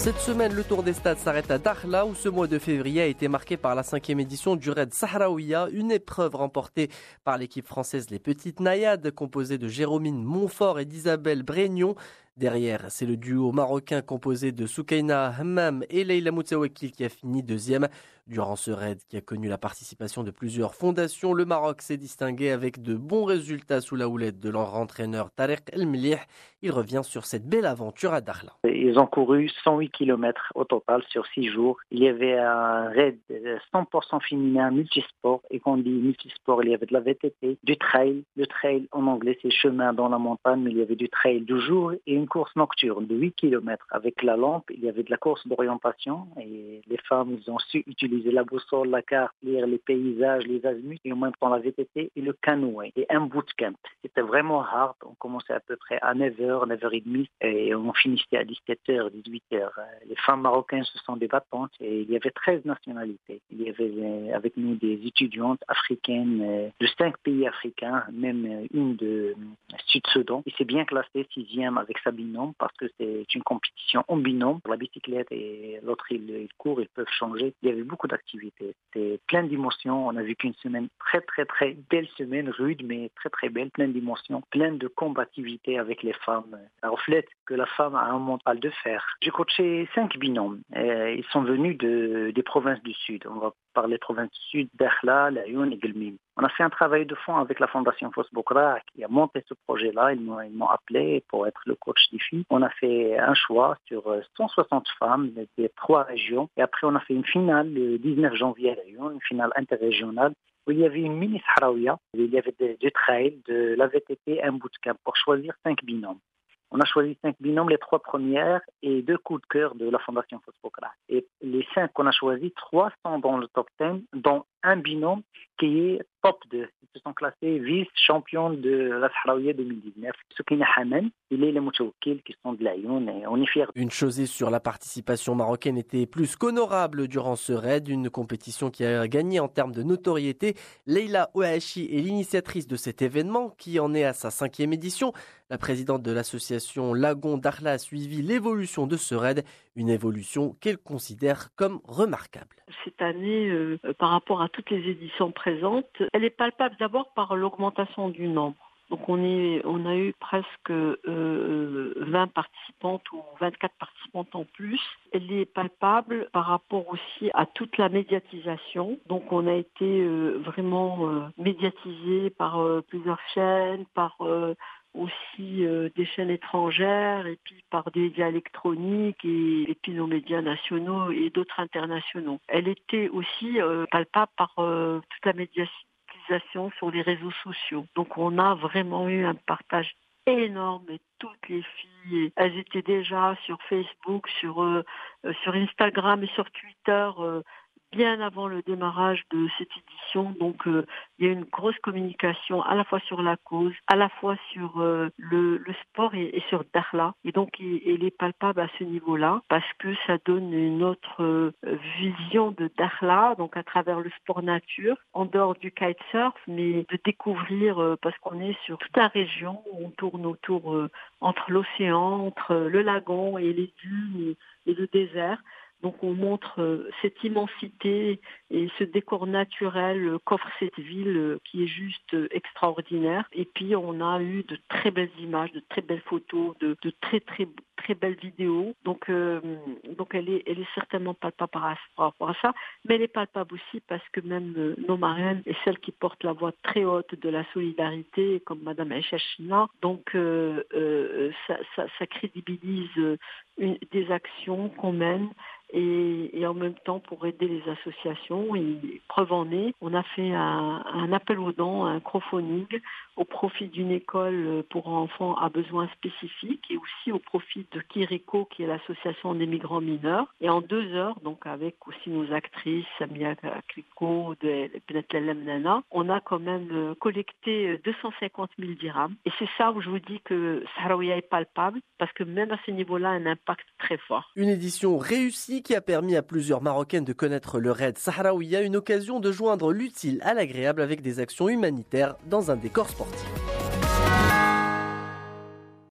Cette semaine, le Tour des Stades s'arrête à Dakhla où ce mois de février a été marqué par la 5e édition du Raid Sahraouia, une épreuve remportée par l'équipe française Les Petites Naïades, composée de Jérôme Montfort et d'Isabelle Brégnon. Derrière, c'est le duo marocain composé de Soukaina Hammam et Leila Moutawakil qui a fini deuxième. Durant ce raid qui a connu la participation de plusieurs fondations, le Maroc s'est distingué avec de bons résultats sous la houlette de leur entraîneur Tarek El Mlih. Il revient sur cette belle aventure à Dakhla. Ils ont couru 108 km au total sur 6 jours. Il y avait un raid 100% féminin multisport. Et quand on dit multisport, il y avait de la VTT, du trail. Le trail en anglais c'est chemin dans la montagne, mais il y avait du trail du jour et une course nocturne de 8 km. Avec la lampe, il y avait de la course d'orientation et les femmes ils ont su utiliser la boussole, la carte, lire les paysages, les azimuts et en même temps la VTT et le canoë et un bootcamp. C'était vraiment hard. On commençait à peu près à 9h, 9h30 et on finissait à 17h, 18h. Les femmes marocaines ce sont des battantes et il y avait 13 nationalités. Il y avait avec nous des étudiantes africaines de 5 pays africains, même une de Sud-Soudan. Il s'est bien classé 6e avec sa binôme parce que c'est une compétition en binôme. La bicyclette et l'autre il court, ils peuvent changer. Il y avait beaucoup d'activités. C'était plein d'émotions. On a vécu une semaine très belle semaine, rude mais très belle, plein d'émotions, plein de combativité avec les femmes. Ça reflète que la femme a un mental de fer. J'ai coaché 5 binômes. Ils sont venus des provinces du Sud. On va parler provinces du Sud, Dakhla, Laayoune et Guelmim. On a fait un travail de fond avec la Fondation Fos Bokra qui a monté ce projet-là. Ils m'ont appelé pour être le coach des filles. On a fait un choix sur 160 femmes des 3 régions. Et après, on a fait une finale le 19 janvier à Laayoune, une finale interrégionale où il y avait une mini Sahraouia. Il y avait du trail, de la VTT, un bootcamp pour choisir 5 binômes. On a choisi 5 binômes, les 3 premières et 2 coups de cœur de la Fondation Fos Bokra. Et les 5 qu'on a choisis, 3 sont dans le top 10, dont un binôme qui est top 2. Ils se sont classés vice-champions de la Sahraouia 2019. Soukaina Hammam et Leila Moutawakil qui sont de Laayoune et on est fiers. Une chose est sûre, la participation marocaine était plus qu'honorable durant ce raid, une compétition qui a gagné en termes de notoriété. Leila Ouachi est l'initiatrice de cet événement qui en est à sa 5e édition. La présidente de l'association Lagon Dakhla a suivi l'évolution de ce raid, une évolution qu'elle considère comme remarquable. Cette année, par rapport à toutes les éditions présentes, elle est palpable d'abord par l'augmentation du nombre. Donc on a eu presque 20 participantes ou 24 participantes en plus. Elle est palpable par rapport aussi à toute la médiatisation. Donc on a été vraiment médiatisé par plusieurs chaînes, par aussi des chaînes étrangères et puis par des médias électroniques et puis nos médias nationaux et d'autres internationaux. Elle était aussi palpable par toute la médiatisation sur les réseaux sociaux. Donc on a vraiment eu un partage énorme et toutes les filles, elles étaient déjà sur Facebook, sur Instagram et sur Twitter bien avant le démarrage de cette édition. Donc il y a une grosse communication à la fois sur la cause, à la fois sur le sport et sur Dakhla. Et donc elle est palpable à ce niveau-là parce que ça donne une autre vision de Dakhla, donc à travers le sport nature, en dehors du kitesurf, mais de découvrir, parce qu'on est sur toute la région, on tourne autour entre l'océan, entre le lagon et les dunes et le désert. Donc on montre cette immensité et ce décor naturel qu'offre cette ville qui est juste extraordinaire. Et puis on a eu de très belles images, de très belles photos, de très belles vidéos. Donc elle est certainement palpable par rapport à ça, mais elle est palpable aussi parce que même nos marraines et celles qui portent la voix très haute de la solidarité, comme Madame Aïcha China, donc ça crédibilise des actions qu'on mène et en même temps pour aider les associations. Et preuve en est, on a fait un appel aux dons, un crowdfunding au profit d'une école pour enfants à besoins spécifiques et aussi au profit de Kiriko, qui est l'association des migrants mineurs. Et en 2 heures, donc avec aussi nos actrices, Samia Kiriko, de Benetlalem Nana, on a quand même collecté 250 000 dirhams. Et c'est ça où je vous dis que Sahraouia est palpable, parce que même à ce niveau-là, un impact très fort. Une édition réussie qui a permis à plusieurs Marocaines de connaître le raid Sahraouia, une occasion de joindre l'utile à l'agréable avec des actions humanitaires dans un décor sportif.